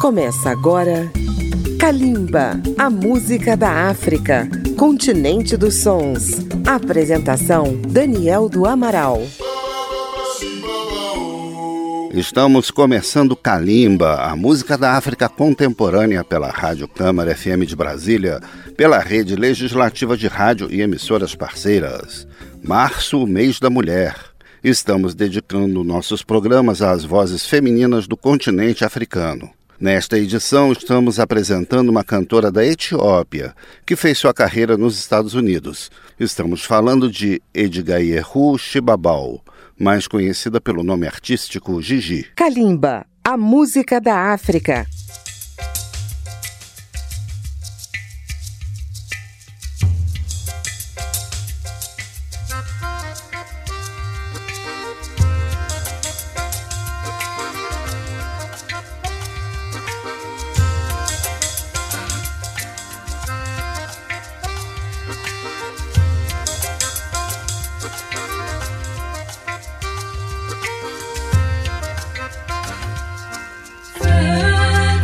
Começa agora Kalimba, a música da África, continente dos sons. Apresentação Daniel do Amaral. Estamos começando Kalimba, a música da África contemporânea pela Rádio Câmara FM de Brasília, pela Rede Legislativa de Rádio e emissoras parceiras. Março, mês da mulher. Estamos dedicando nossos programas às vozes femininas do continente africano. Nesta edição, estamos apresentando uma cantora da Etiópia, que fez sua carreira nos Estados Unidos. Estamos falando de Edgayehu Shibabal, mais conhecida pelo nome artístico Gigi. Kalimba, a música da África. Hey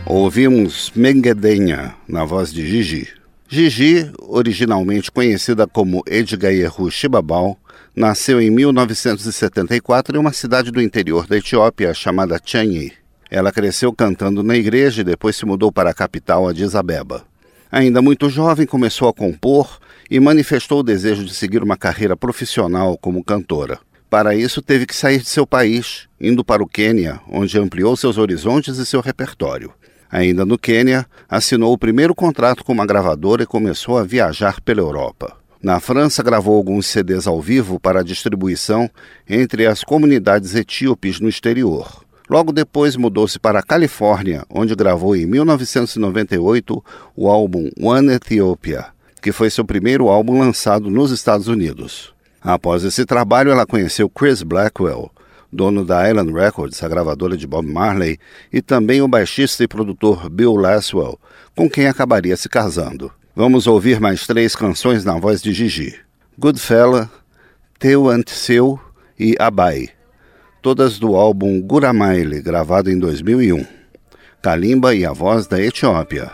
Ouvimos Menguedenha, na voz de Gigi. Gigi, originalmente conhecida como Edgayehu Shibabal, nasceu em 1974 em uma cidade do interior da Etiópia chamada Chanyi. Ela cresceu cantando na igreja e depois se mudou para a capital, Addis Abeba. Ainda muito jovem, começou a compor e manifestou o desejo de seguir uma carreira profissional como cantora. Para isso, teve que sair de seu país, indo para o Quênia, onde ampliou seus horizontes e seu repertório. Ainda no Quênia, assinou o primeiro contrato com uma gravadora e começou a viajar pela Europa. Na França, gravou alguns CDs ao vivo para distribuição entre as comunidades etíopes no exterior. Logo depois, mudou-se para a Califórnia, onde gravou em 1998 o álbum One Ethiopia, que foi seu primeiro álbum lançado nos Estados Unidos. Após esse trabalho, ela conheceu Chris Blackwell, dono da Island Records, a gravadora de Bob Marley, e também o baixista e produtor Bill Laswell, com quem acabaria se casando. Vamos ouvir mais 3 canções na voz de Gigi: Goodfella, Teu Anteseu e Abai, todas do álbum Guramaile, gravado em 2001. Kalimba e a voz da Etiópia.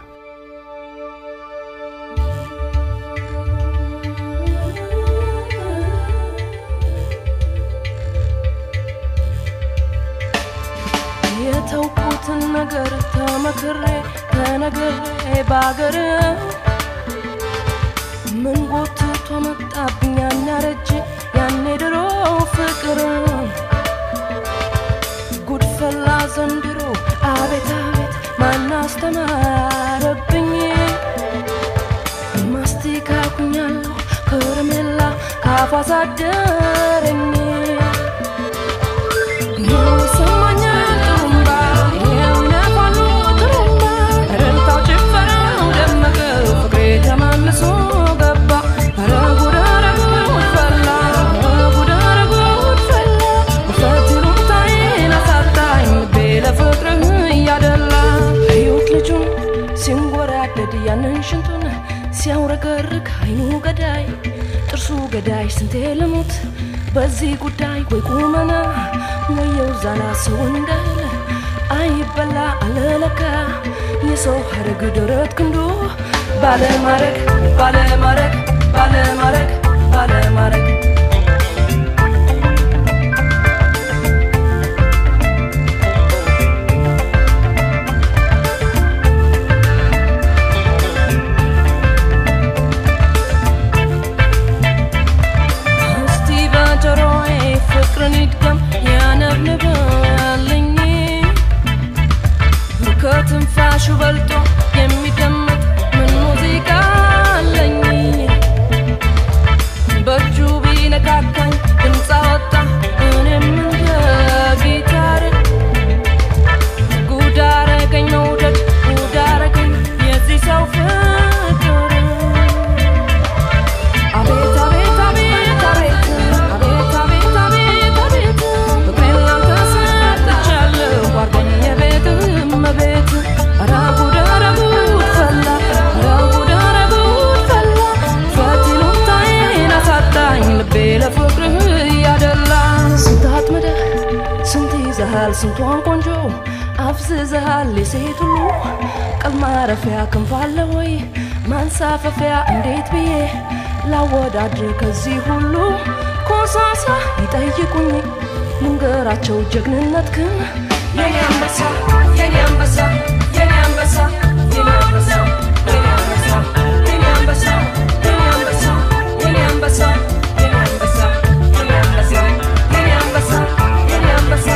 የተውኩትን ነገር ተመክሬ ተነግሬ ባገር ምን ጎትቶ መጣብኝ ያናረጅ ያኔ ድሮ ፍቅር ጉድፈላ ዘንድሮ አቤት አቤት ማን አስተማረብኝ ማስቲካ ኩኛለሁ ከረሜላ ካፏ ሳደረኝ ሲያውረገርግ አይኑ ገዳይ ጥርሱ ገዳይ ስንቴ ልሙት በዚህ ጉዳይ ወይ ቁመና ወየው ዛላ ሰው እንዳለ አይበላ አለለካ የሰው ሀረግ ደረት ክንዱ ባለማረግ ባለማረግ ባለማረግ ባለማረግ ትንፋሹ በልጦ የሚደመጥ ምን ሙዚቃ አለኝ በእጁ ቢነካካኝ ድምፅ አወጣ እኔም እንደ ጊታር ጉድ አረገኝ መውደድ ጉድ አረገኝ የዚህ ሰው ፍቅር አቤት አቤት አቤት አቤት አቤት አቤት አቤት አቤት ፍቅሬን ላንተ ሰጥቻለሁ አርገኝ የቤት እመቤት ስንቷን ቆንጆ አፍዝዘሃል የሴት ሁሉ ቀል ማረፊያ ክንፋለ ወይ ማንሳፈፊያ እንዴት ብዬ ላወዳድር ከዚህ ሁሉ ኮሳሳ ይጠይቁኝ ልንገራቸው ጀግንነትክን የኔ አንበሳ የኔ አንበሳ የኔ አንበሳ የኔ አንበሳ የኔ አንበሳ የኔ አንበሳ የኔ አንበሳ የኔ አንበሳ የኔ አንበሳ የኔ አንበሳ የኔ አንበሳ የኔ አንበሳ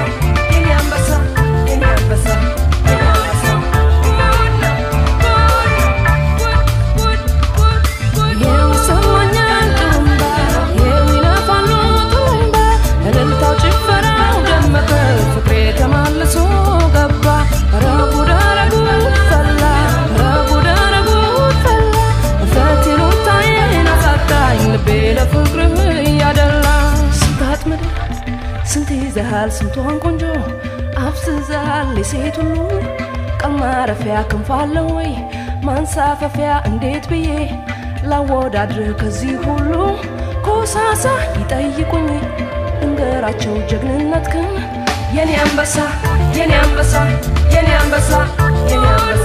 ይዘሃል ስንቷን ቆንጆ አፍዝዘሃል የሴት ሁሉ ቀል ማረፊያ ክንፋለ ወይ ማንሳፈፊያ እንዴት ብዬ ላወዳድር ከዚህ ሁሉ ኮሳሳ ይጠይቁኝ ልንገራቸው ጀግንነትክን የኔ አንበሳ የኔ አንበሳ የኔ አንበሳ የኔ አንበሳ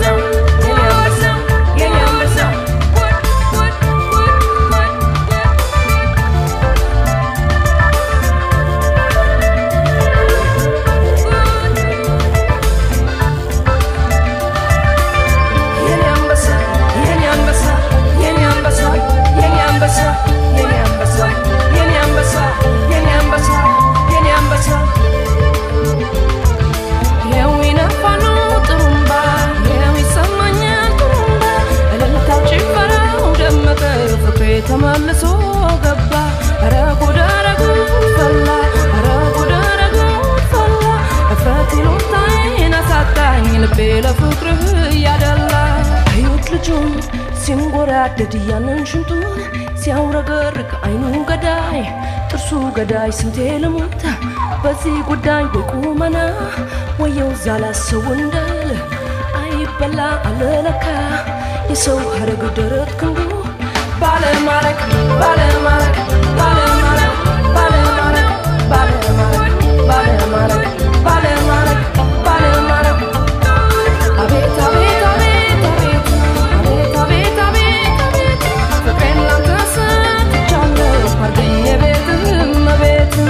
ፍቅርህ ያደላ ህይወት ልጁን ሲንጎራደድ ያንን ሽንቱን ሲያውረገርግ አይኑ ገዳይ ጥርሱ ገዳይ ስንቴ ልሙት በዚህ ጉዳይ በቁመና ወየው ዛላሰው እንደል አይበላ አለለካ የሰው ሀረግ ደረት ክንዱ ባለማረክ ባለማረክ ባለማረክ ባለማረክ ባለማረክ ባለማረክ ባለማረክ ባለማረክ አቤት አቤት አቤት አቤት አቤት አቤት አቤት ፍቅሬን ላንተ ሰጥቻለሁ አርገኝ የቤትህም ቤትም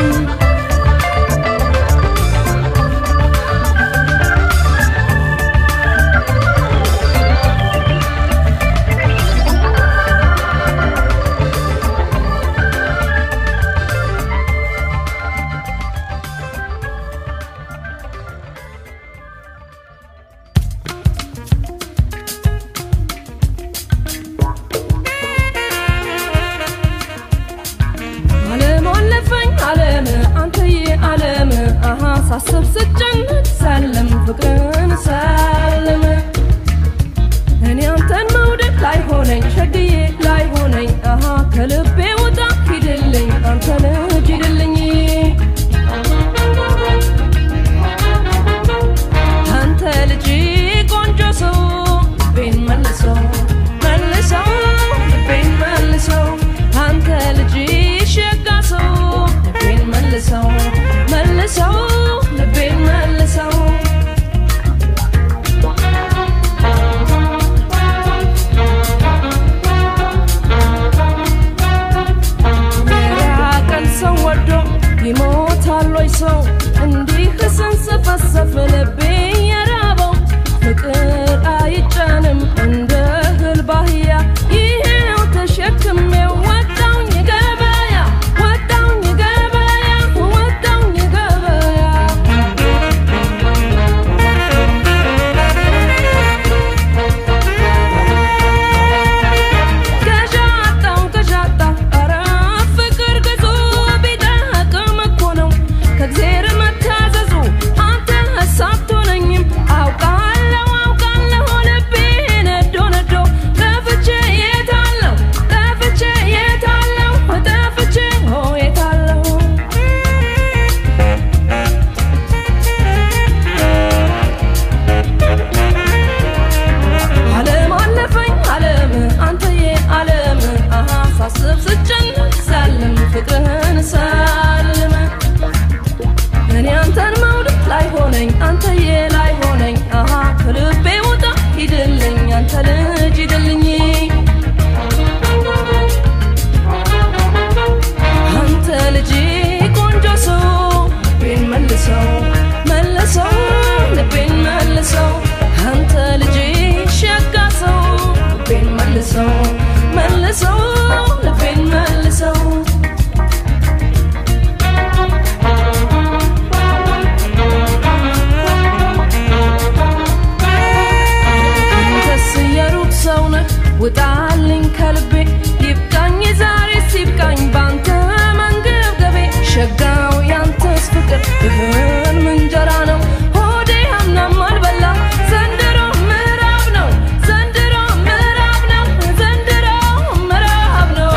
ሳስብ ስጨነቅ ሳለም ፍቅርን ሳለም እኔ አንተን መውደድ ላይ ሆነኝ ሸግዬ ላይ ሆነኝ ከልቤ ውጣ ሂድልኝ አንተ ልጅ ሂድልኝ አንተ ልጅ ቆንጆ ሰው ልቤን መልሰው መልሰው ልቤን መልሰው አንተ ልጅ ሸጋ ሰው ልቤን መልሰው መልሰው ልቤን መልሰው የራቀን ሰው ወዶ ይሞታል ወይ ሰው እንዲህ ስንሰፈሰፍ ልቤ የራበው ፍቅር አይጫንም እንደ እህል ባህያ ይሄው ተሸክሜው ወጣውኝ ገበያ ወጣውኝ ገበያ ወጣውኝ ገበያ ገዣጣው ኧረ ፍቅር ገዙ ቢደቅም እኮ ነው ከእግዜር መታዘዙ አንተ ሀሳብ ትሆነኝም አውቃለሁ አውቃለሁ ልቤ ነዶ ነዶ ጠፍቼ የታለሁ ጠፍቼ የታለሁ ጠፍቼ የታለሁ ዓለም አለፈኝ ዓለም አንተዬ ዓለም ሳስብ ስጨነቅ ሳለም ፍቅርህን ሳልም እኔ አንተን መውደድ ላይ ሆነኝ አንተዬ ላይ ሆነኝ ከልቤ ውጣ ሂድልኝ አንተ ልጅ ሂድልኝ አንተ ልጅ ቆንጆ ሰው ልቤን መልሰው መልሰው ልቤን መልሰው አንተ ልጅ ሸጋ ሰው ልቤን መልሰው መልሰው ልቤን መልሰው አንተስ የሩቅ ሰው ነህ ውጣልኝ ከልቤ ይብቃኝ ዛሬ ሲብቃኝ ባንተ መንገብገቤ ሸጋው ያንተስ ፍቅር ይህን ምንጀራ ነው ሆዴ አምናም አልበላ ዘንድሮ ምዕራብ ነው ዘንድሮ ምዕራብ ነው ዘንድሮ ምዕራብ ነው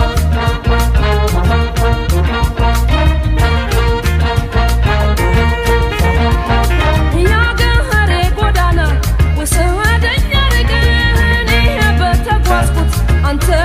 ያገሬ ጎዳና ወሰደኝ አርገን በተጓዝኩት አንተ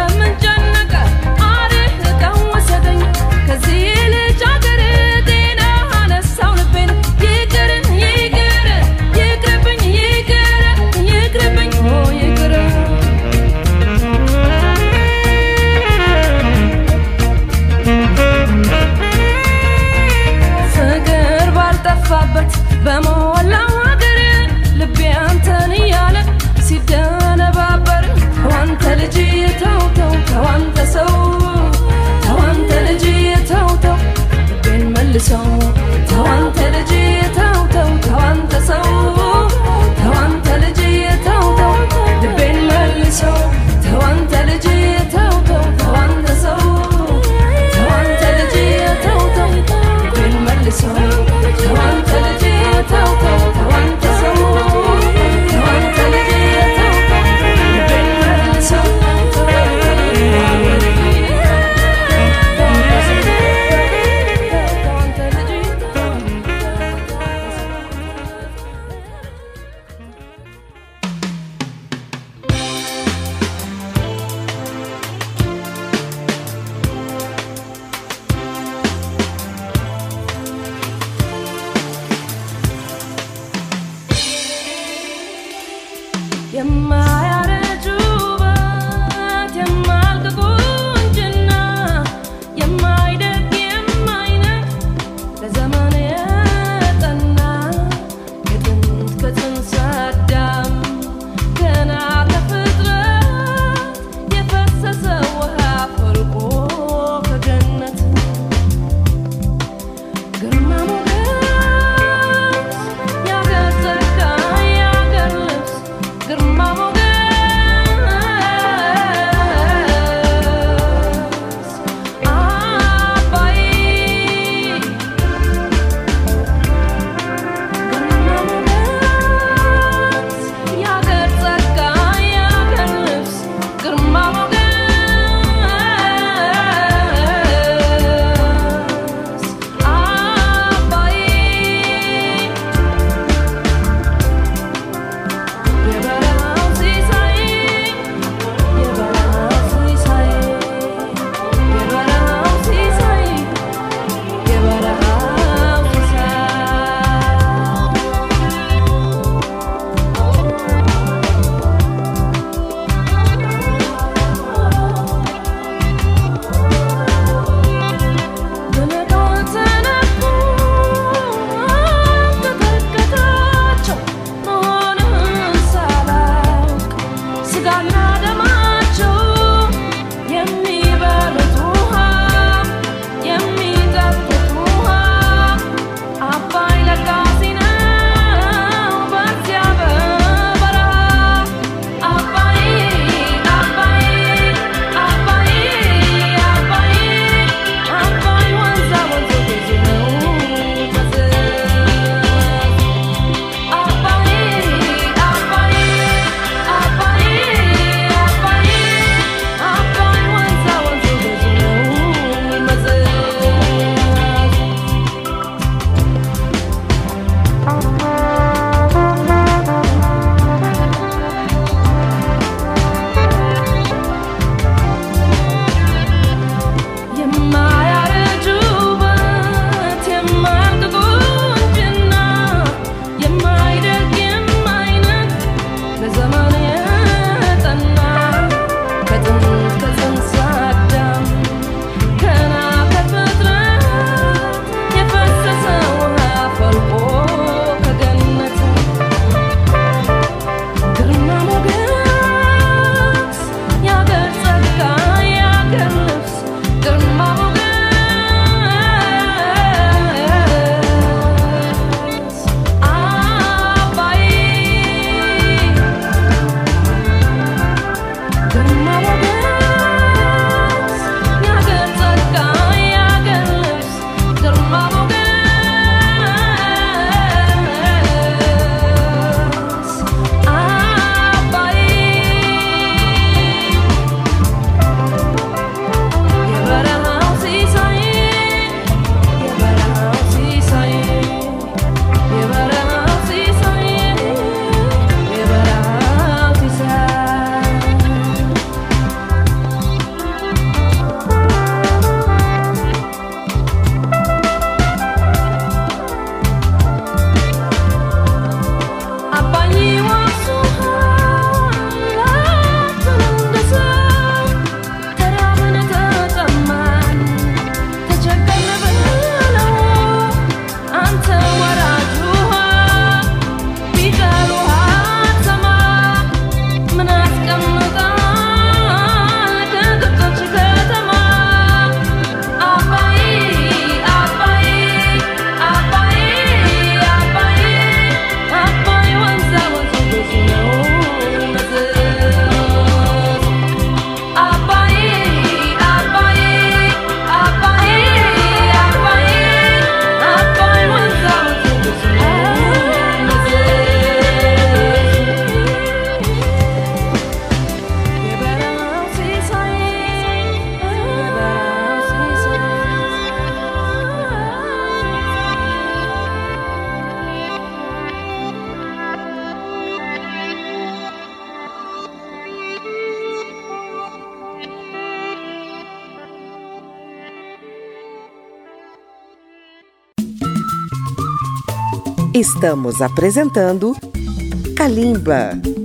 Estamos apresentando Kalimba.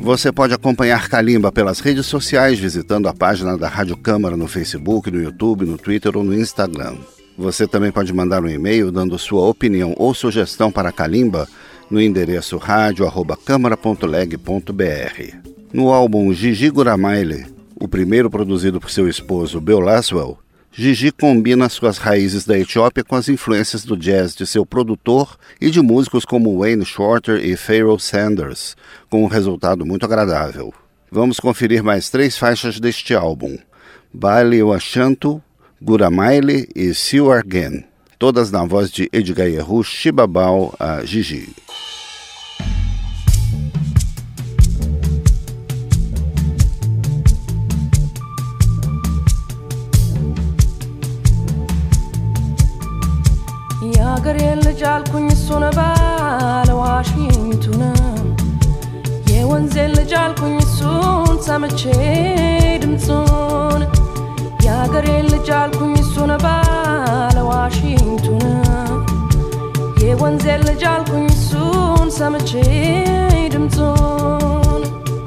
Você pode acompanhar Kalimba pelas redes sociais, visitando a página da Rádio Câmara no Facebook, no YouTube, no Twitter ou no Instagram. Você também pode mandar um e-mail dando sua opinião ou sugestão para Kalimba no endereço radio@câmara.leg.br. No álbum Gigi Guramaile, o primeiro produzido por seu esposo Bill Laswell, Gigi combina suas raízes da Etiópia com as influências do jazz de seu produtor e de músicos como Wayne Shorter e Pharoah Sanders, com um resultado muito agradável. Vamos conferir mais 3 faixas deste álbum: Baile Washantu, Guramaile e Siwargen, todas na voz de Edgayehu Shibabal a Gigi. የአገሬ ልጅ አልኩኝ እሱን ባለ ዋሽንቱን የወንዜ ልጅ አልኩኝ እሱን ሰምቼ ድምፁን የአገሬ ልጅ አልኩኝ እሱን ባለ ዋሽንቱን የወንዜ ልጅ አልኩኝ እሱን ሰምቼ ድምፁን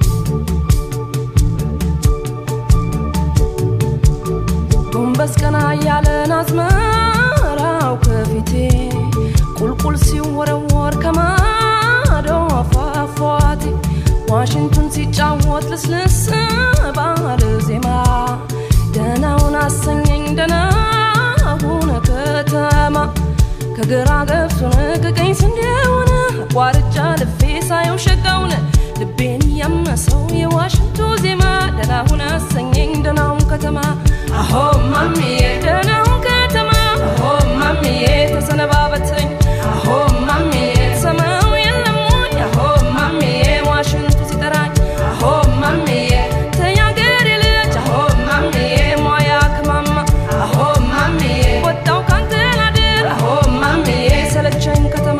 ጎንበስ ቀና እያለን አዝመራው ከፊቴ ቁልቁል ሲወረወር ከማዶ አፏፏቴ ዋሽንቱን ሲጫወት ልስልስ ባለ ዜማ ደህናውን አሰኘኝ ደህናውን ከተማ ከግራ ገብቶን ከቀኝ ስንዴውን አቋርጫ ልፌ ሳየው ሸጋውን ልቤን ያመሰው የዋሽንቱ ዜማ ደህናውን አሰኘኝ ደህናውን ከተማ አሆ ማሚዬ ደህናውን ከተማ አሆ ማሚዬ ተሰነባበተኝ አሆ ማሚዬ ሰማው የለሙኝ አሆ ማሚዬ ዋሽንቱ ሲጠራኝ አሆ ማሚዬ ተያገሬ ልጅ አሆ ማሚዬ ሞያ ከማማ አሆ ማሚዬ ወጣው ካንተ ላድር አሆ ማሚዬ ሰለቸኝ ከተማ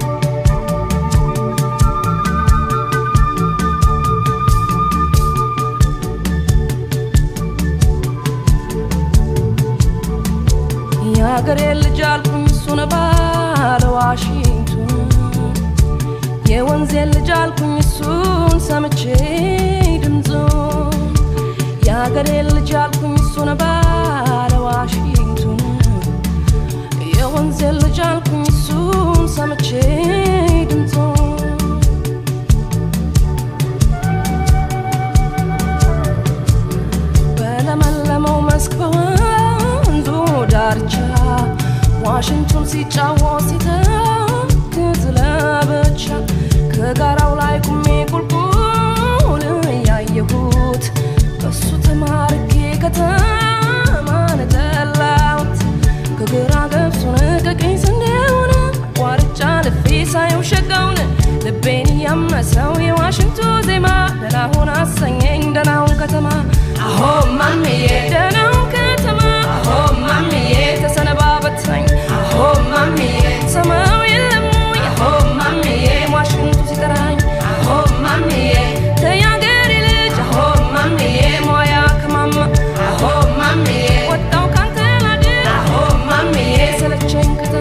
የአገሬ ልጅ አልኩኝ እሱን ባለ ዋሽንቱን የወንዜ ልጅ አልኩኝ እሱን ሰምቼ ድምፁን የአገሬ ልጅ አልኩኝ እሱን ባለ ዋሽንቱን የወንዜ ልጅ አልኩኝ እሱን ሰምቼ ድምፁን በለመለመው መስክ በወንዙ ዳርቻ ዋሽንቱን ሲጫወት ሲተክዝ ለብቻ ከጋራው ላይ ቁሜ ቁልቁል ያየሁት በሱ ተማርኬ ከተማን ጠላሁት ከግራ ገብሱን ከቀኝ ስንዴውን አቋርጫ ልፌ ሳየው ሸጋውን ልቤን ያመሰው የዋሽንቱ ዜማ ደህናውን አሰኘኝ ደህናውን ከተማ አሆ ማሚዬ ደህናውን ከተማ አሆ ማሚዬ ተሰነባበተኝ አሆ ማሚዬ ሰማው የለሙኝ አሆ ማሚዬ ዋሽንቱ ሲጠራኝ አሆ ማሚዬ ተያገሬ ልጅ አሆ ማሚዬ ሞያ ከማማ አሆ ማሚዬ ወጣው ካንተ ላድር አሆ ማሚዬ ሰለቸኝ ከተማ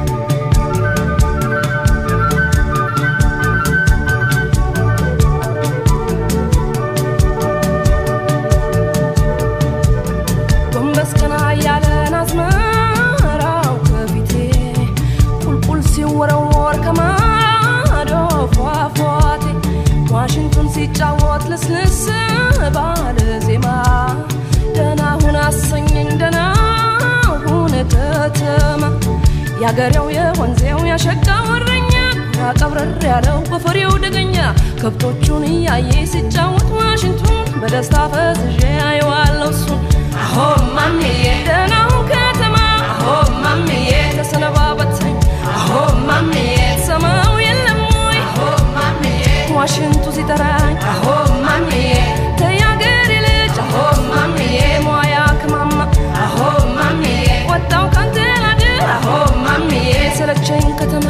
ጎንበስ ቀና እያለን አዝመራው ከፊቴ ቁልቁል ሲወረወር ከማዶ ፏፏቴ ዋሽንቱን ሲጫወት ልስልስ ባለ ዜማ ደህናሁን አሰኘኝ ደህናሁን ከተማ ያገሬው የወንዜው ያሸጋው እረኛ ያቀብረር ያለው በፈሬው ደገኛ ከብቶቹን እያየ ሲጫወት ዋሽንቱን በደስታ ፈዝዤ አየዋለሁ እሱን አሆ ማሚዬ ደህናውን ከተማ አሆ ማሚዬ ተሰነባበተኝ አሆ ማሚዬ ሰማው የለም ወይ አሆ ማሚዬ ዋሽንቱ ሲጠራኝ አሆ ማሚዬ ተያገሬ ልጅ አሆ ማሚዬ ሞያ ከማማ አሆ ማሚዬ ወጣው ካንተ ላድር አሆ ማሚዬ ሰለቸኝ ከተማ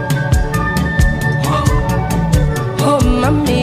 ሆ ማሚዬ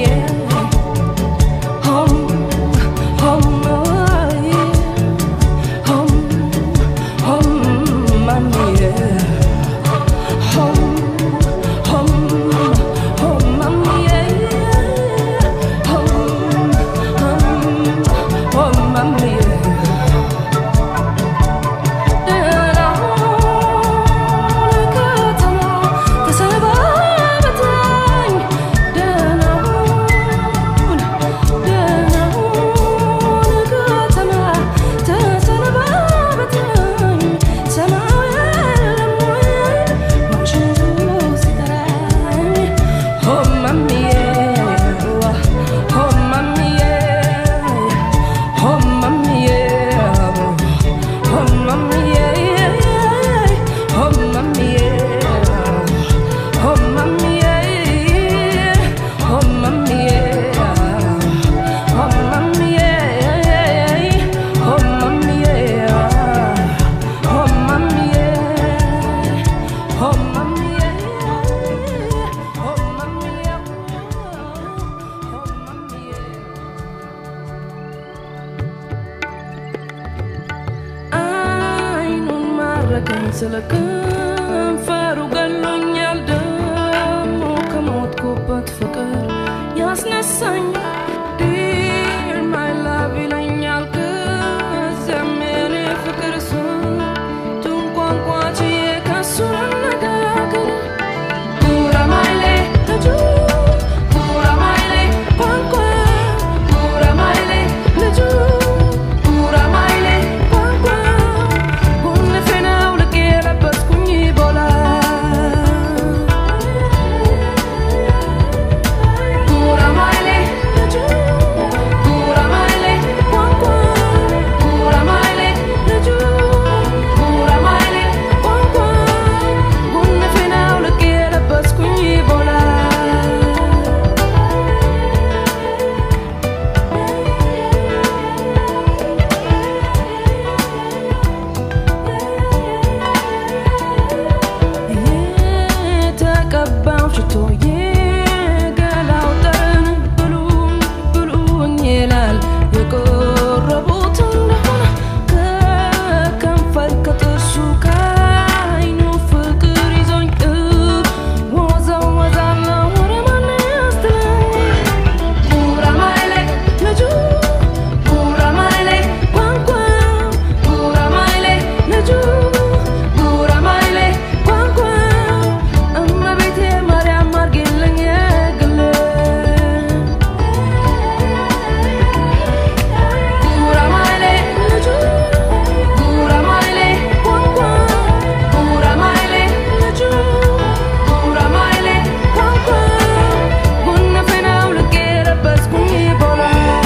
ማረከኝ ስለከንፈሩ ገሎኛል ደሞ ከሞትኩበት ፍቅር ያስነሳኝ Dear my love ይለኛል ከዚያም የኔ ፍቅር ስንቱን ቋንቋ ችዬ ከሱ ልነጋገር ጉራማይሌ ልጁ ጉራማይሌ ቋንቋ ጉራማይሌ ልጁ ጉራማይሌ ቋንቋ ጉንፌ ነው ልክ የለበስኩኝ ቦላ ጉራማይሌ ልጁ ጉራማይሌ ቋንቋ ጉራማይሌ ልጁ ጉራማይሌ ቋንቋ ጉንፌ ነው ልክ የለበስኩኝ ቦላ የተቀባው ሽቶ የገላው ጠረን ብሉኝ ብሉኝ ይላል የቆረቡት እንደሆነ ከከንፈር ከጥርሱ ከዓይኑ ፍቅር ይዞኝ ወዛወዛለሁ ወደ ማን ያስትለኝ ጉራማይሌ ልጁ ጉራማይሌ ቋንቋ ጉራማይሌ ልጁ ጉራማይሌ ቋንቋ እመቤቴ ማርያም አርጊልኝ የግሌ ጉራማይሌ ልጁ ጉራማይሌ ቋንቋ ጉራማይሌ ልጁ ጉራማይሌ ቋንቋ ጉንፌ ነው ልክ የለበስኩኝ ቦላ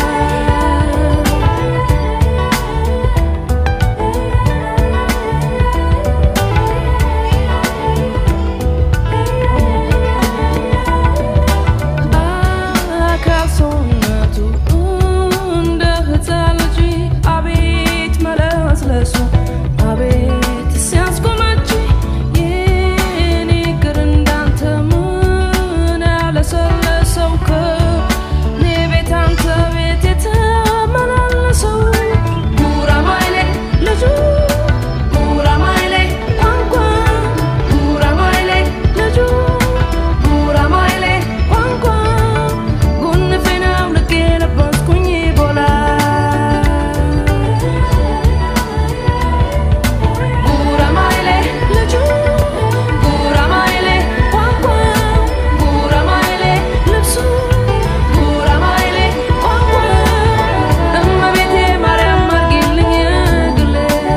አካል ሰውነቱ እንደ ሕፃን ልጅ አቤት መለስለሱ አቤት ሲያስጎመጅ የኔ እግር እንዳንተ ምን ያለሰለሰው ከኔ ቤት አንተ ቤት የተመላለሰው ጉራማይሌ ልጁ ጉራማይሌ ቋንቋ ጉራማይሌ ልጁ ጉራማይሌ ቋንቋ ጉንፌ ነው ልክ የለበስኩኝ ቦላ ጉራማይሌ ልጁ ጉራማይሌ ቋንቋ ጉራማይሌ ልብሱ ጉራማይሌ ቋንቋ እመቤቴ ማርያም አርጊልኝ የግሌ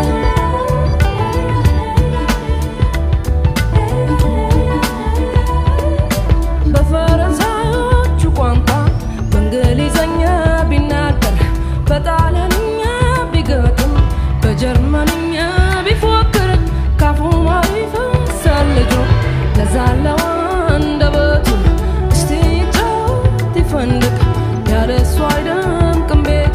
በፈረንሳዮቹ ቋንቋ በእንግሊዘኛ ቢናገር በጣሊያንኛ ቢገጥም በጀርመንኛ ቢፎክር ካፉ ማይፈሳል ልጁ ለዛለው አንደበቱ እስቲ ይጫወት ይፈንድቅ ያለሱ አይደምቅም ቤቱ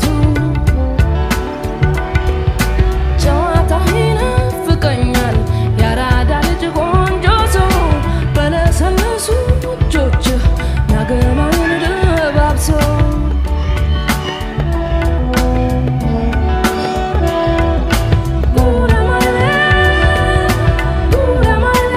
ጨዋታህ ይናፍቀኛል ያራዳ ልጅ ቆንጆ ሰው በለሰለሱ እጆችህ ናገናዬን ደባብሰው ጉራማይሌ ጉራማይሌ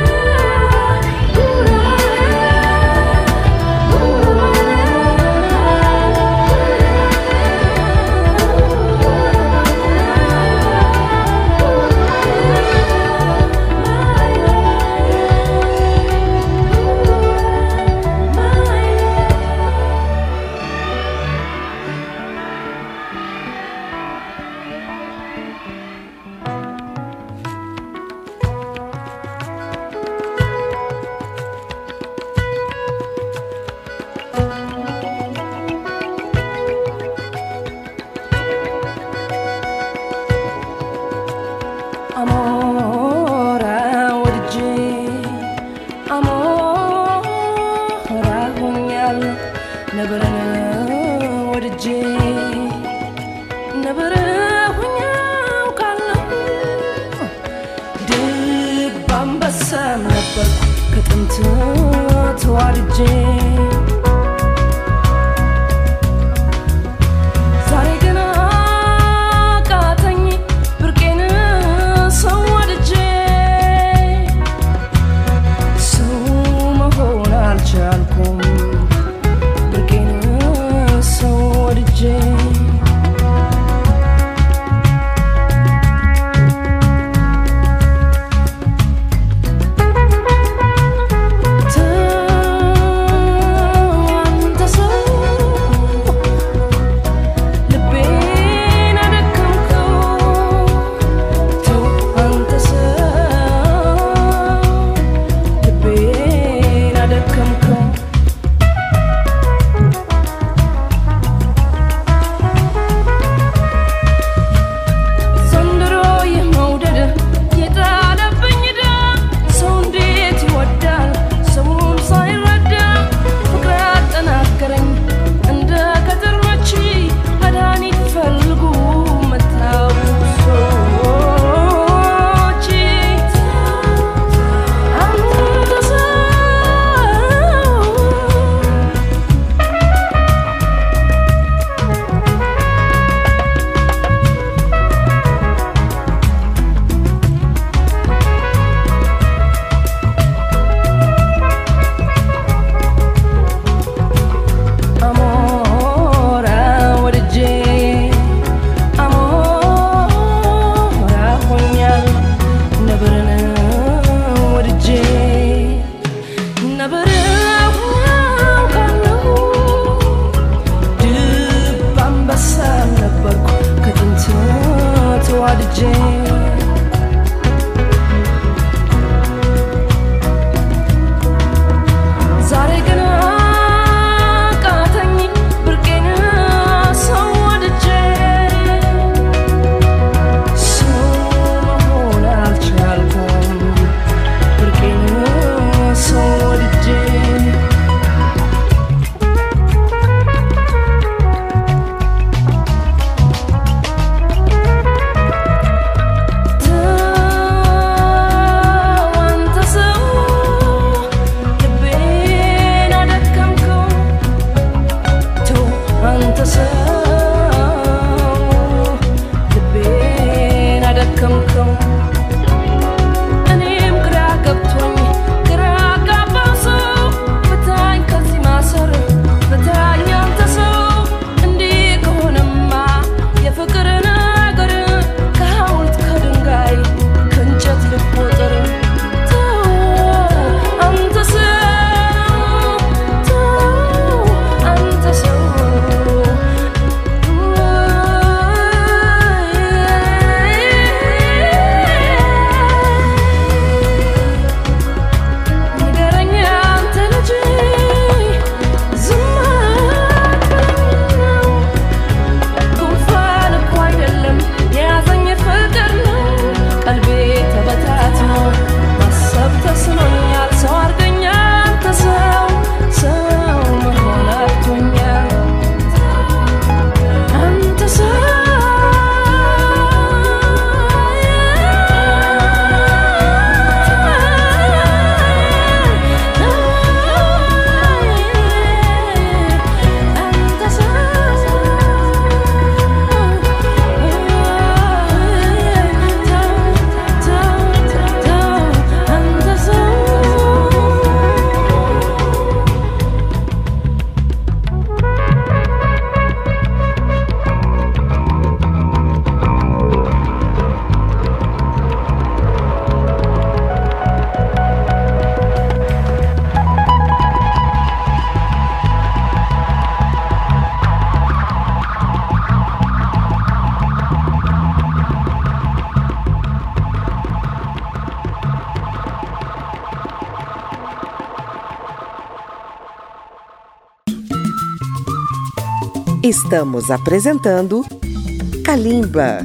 አሞራ ወድጄ አሞራ ሆኛለሁ ነብርን ወድጄ ነብር ሆኜ አውቃለሁ ድብ አንበሳም ነበርኩ ከጥንት ተዋድጄ ዛሬ ግን አቃተኝ ብርቄን ሰው ወድጄ Estamos apresentando Kalimba.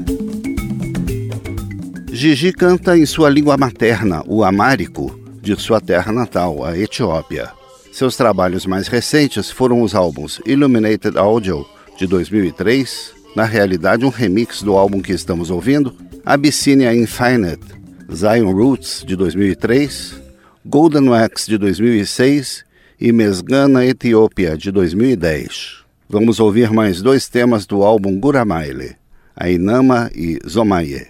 Gigi canta em sua língua materna, o amárico, de sua terra natal, a Etiópia. Seus trabalhos mais recentes foram os álbuns Illuminated Audio, de 2003, na realidade um remix do álbum que estamos ouvindo, Abyssinia Infinite, Zion Roots, de 2003, Golden Wax, de 2006 e Mesgana Etiópia, de 2010. Vamos ouvir mais dois temas do álbum Guramaile, Ainama e Zomaye.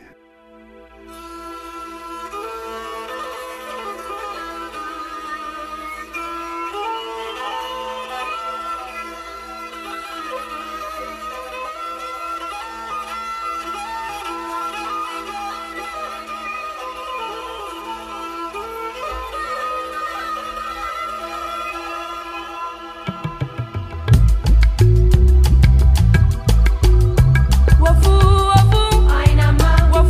Wafu, wafu,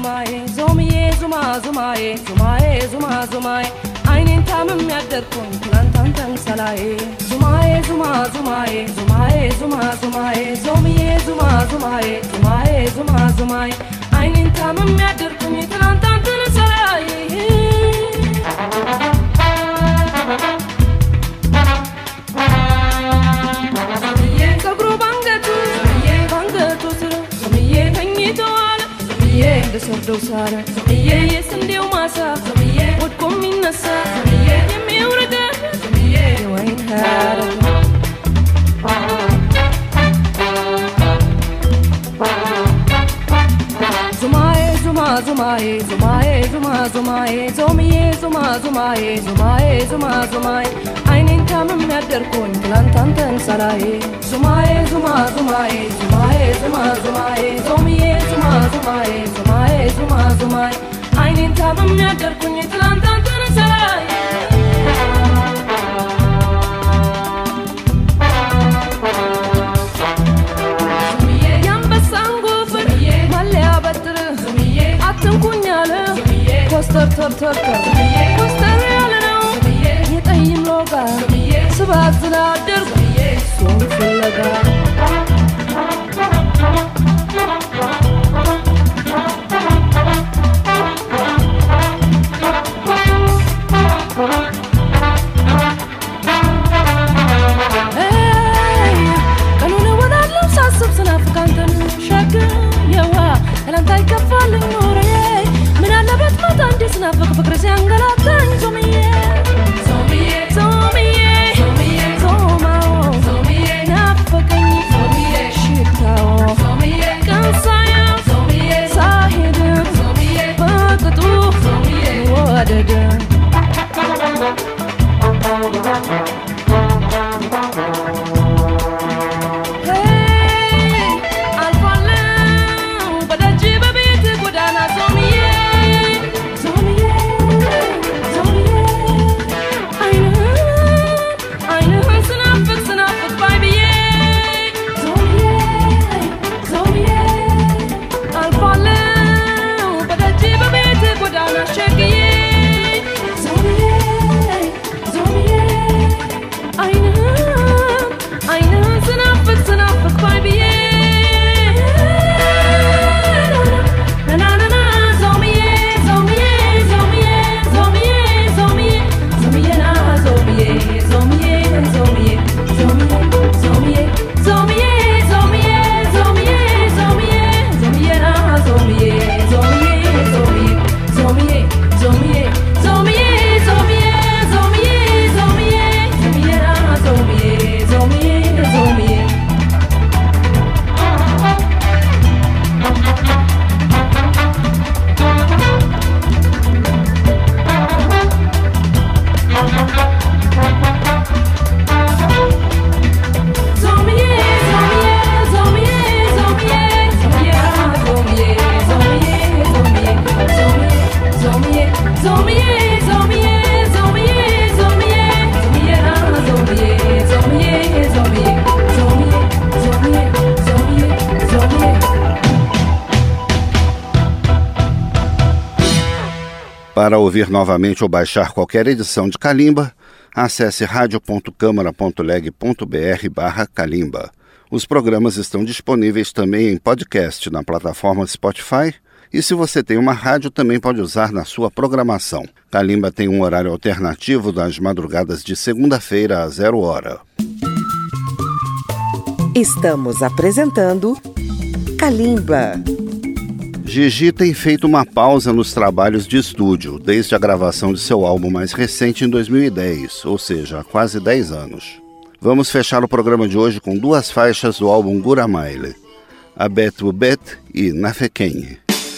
zumaye zomiye zuma zumaye zumaye zuma zumaye aynin tamam yaderkun plantantan salaye zumaye zuma zumaye zumaye zuma zumaye zomiye zuma zumaye zumaye zuma zumaye aynin tamam yaderkun plantantan salaye Sordo sara, yes and deal massa, what come in a sa, you murder, you ain't had Zumaye, zuma, zumaye, zumaye, zuma, zumaye, zomiye, zuma, zumaye, zumaye, zuma, zumaye, einen kamen mit der Kun, plantanten salaye, zumaye, zuma, zumaye, zumaye, zuma, zumaye, zomiye, zuma, zumaye, zumaye, zuma, zumaye, einen kamen mit der Kun, plantanten salaye. Coster coster yale no yetayim loga sabat la der son fulaga hey kanuna wala lam sasab sana fakantan shaka yawa elan tay kafalin nore Nabat matan disna fakr sianggalatan zomiye zomiye zomiye zomiye zomao zomiye nafakani zomiye shitao zomiye kansaya zomiye sahid zomiye fakatu zomiye wadada Para ouvir novamente ou baixar qualquer edição de Kalimba, acesse radio.câmara.leg.br/Kalimba. Os programas estão disponíveis também em podcast na plataforma Spotify e se você tem uma rádio também pode usar na sua programação. Kalimba tem um horário alternativo das madrugadas de segunda-feira a 00h. Estamos apresentando Kalimba. Gigi tem feito uma pausa nos trabalhos de estúdio, desde a gravação de seu álbum mais recente em 2010, ou seja, há quase 10 anos. Vamos fechar o programa de hoje com duas faixas do álbum Guramaile, Abet Ubet e Nafekenye.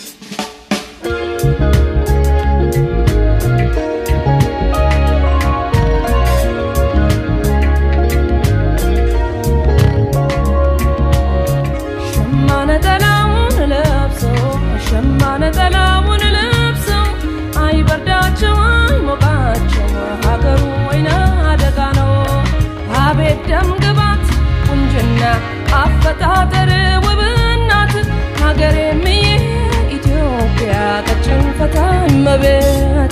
ደም ግባት ቁንጅና አፈጣጠር ውብናት ሀገሬም ኢትዮጵያ መቤት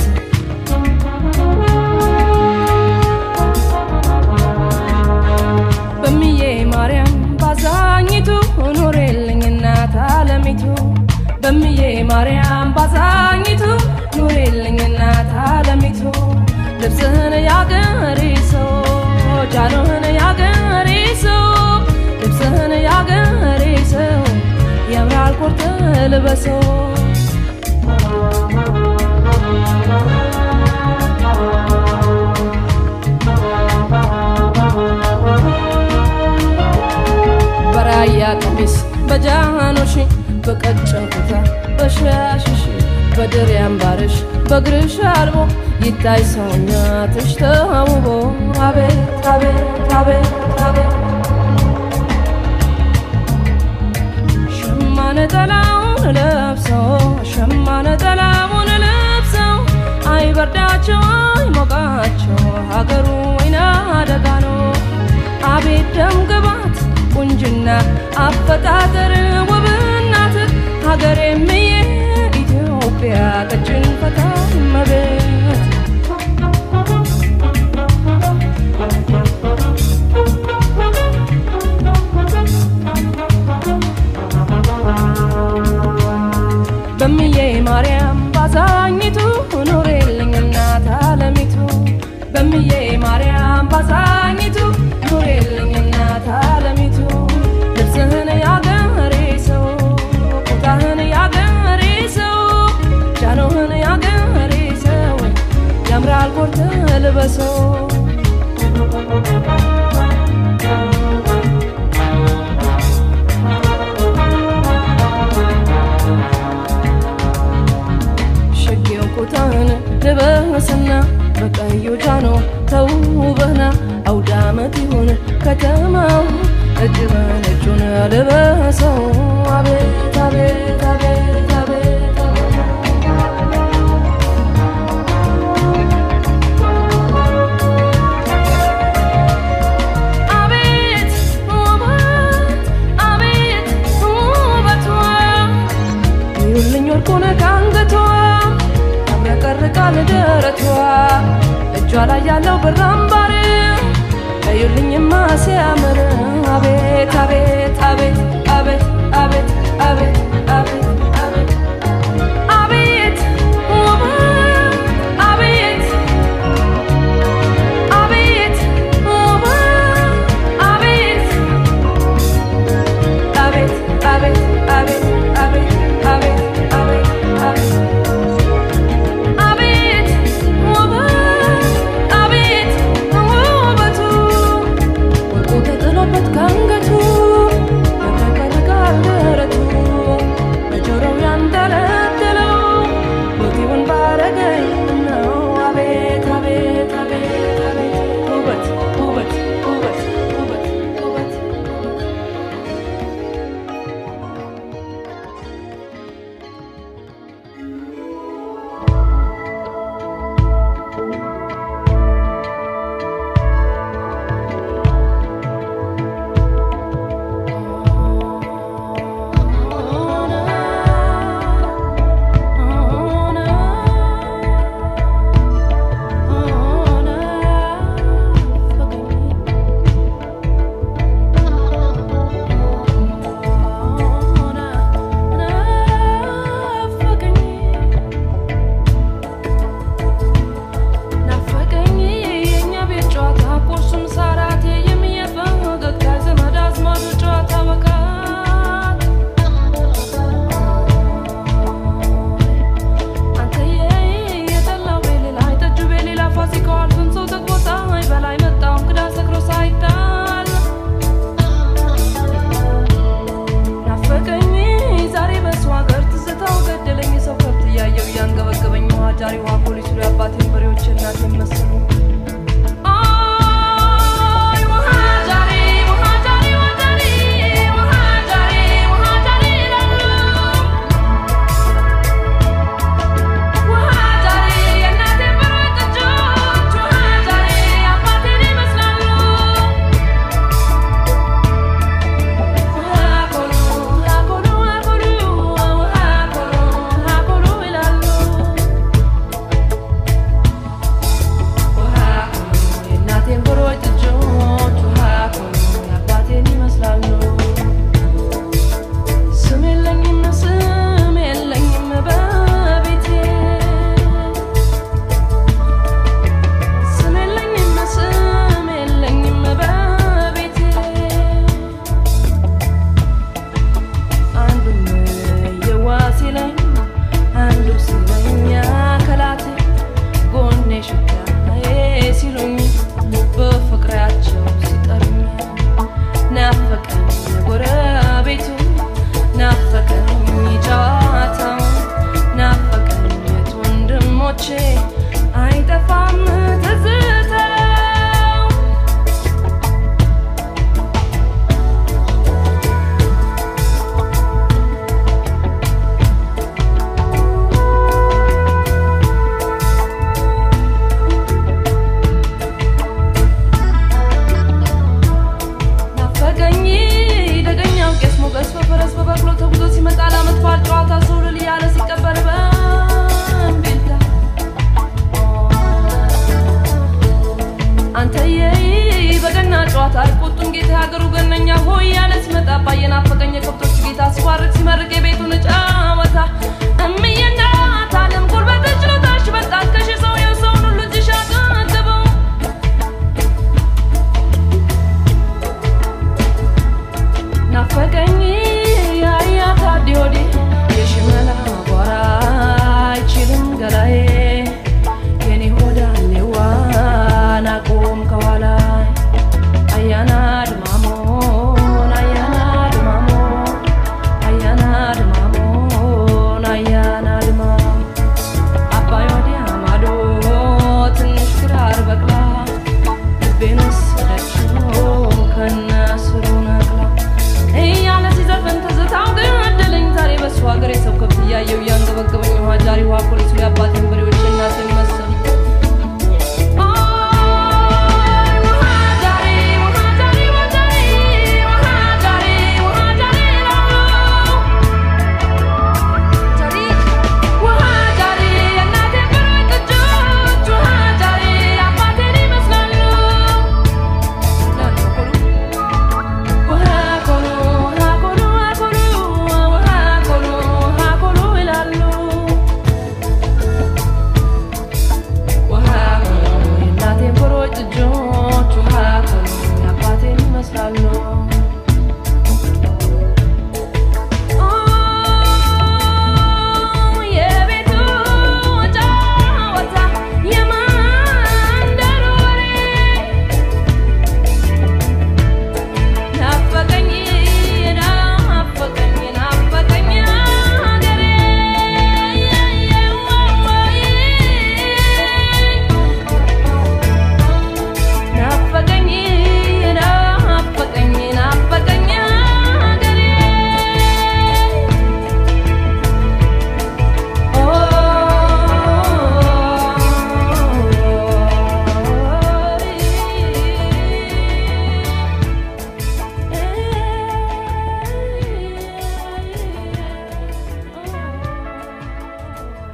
በሚዬ ማርያም ባዛኝቱ ኑሬልኝ እናት ዓለሚቱ በሚዬ ማርያም ባዛኝቱ ኑሬልኝ እናት ዓለሚቱ ልብስህን ያገሬ ሰው ጃኖህን ያገሬ ሰው ልብስህን ያገሬ ሰው ያምራል ኮርተ ልበሰው በራያ ቀሚስ በጃኖሽ በቀጭን ኩታ በሻሽሽ በድር ያምባርሽ በግርሽ አልቦ ይታይ ሰውነትሽ ተውቦ አቤት አቤት አቤት አቤት ሸማነ ጠላውን ለብሰው ሸማነ ጠላውን ለብሰው አይበርዳቸው አይሞቃቸው ሀገሩ ወይና አደጋ ነው አቤት ደም ግባት ቁንጅና አፈጣጠር ውብናት ሀገሬም የኢትዮጵያ ቀጭን ፈታ መቤት በሚዬ ማርያም ባዛኝቱ ኑሬልኝ እናት ዓለሚቱ በሚዬ ማርያም ባዛኝቱ ኑሬልኝ እናት ዓለሚቱ ልብስህን ያገሬ ሰው ኩታህን ያገሬ ሰው ጃኖህን ያገሬ ሰው ያምራል ኮርተ ልበሰው ሽጌው ኩታህን ልበስና በቀዩ ጃኖ ተውበህና አውዳመት ይሁን ከተማው እጅ በነጩን ልበሰው አቤት አቤት አቤት አቤት አቤት ውበት አቤት ውበቷ ይሁልኝ ወርቁን ካንገቷ ያብረቀርቃል ደረቷ እጇ ላይ ያለው ብር አምባር እዩልኝማ ሲያምር አቤት አቤት አቤት አቤት አቤት አቤት አቤት አቤት አቤት ውበት አቤት አቤት ውበት አቤት አቤት አቤት አቤት አቤት አቤት አቤት አቤት አቤት ውበት አቤት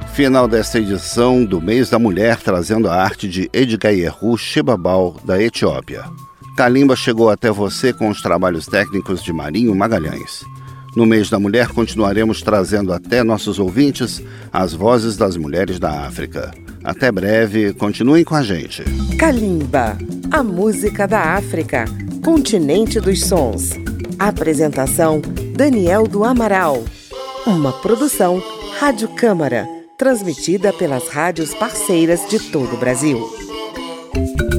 Final desta edição do Mês da Mulher, trazendo a arte de Edgayehu Shebabal, da Etiópia. Kalimba chegou até você com os trabalhos técnicos de Marinho Magalhães. No Mês da Mulher, continuaremos trazendo até nossos ouvintes as vozes das mulheres da África. Até breve, continuem com a gente. Kalimba, a música da África, continente dos sons. Apresentação, Daniel do Amaral. Uma produção Rádio Câmara, transmitida pelas rádios parceiras de todo o Brasil.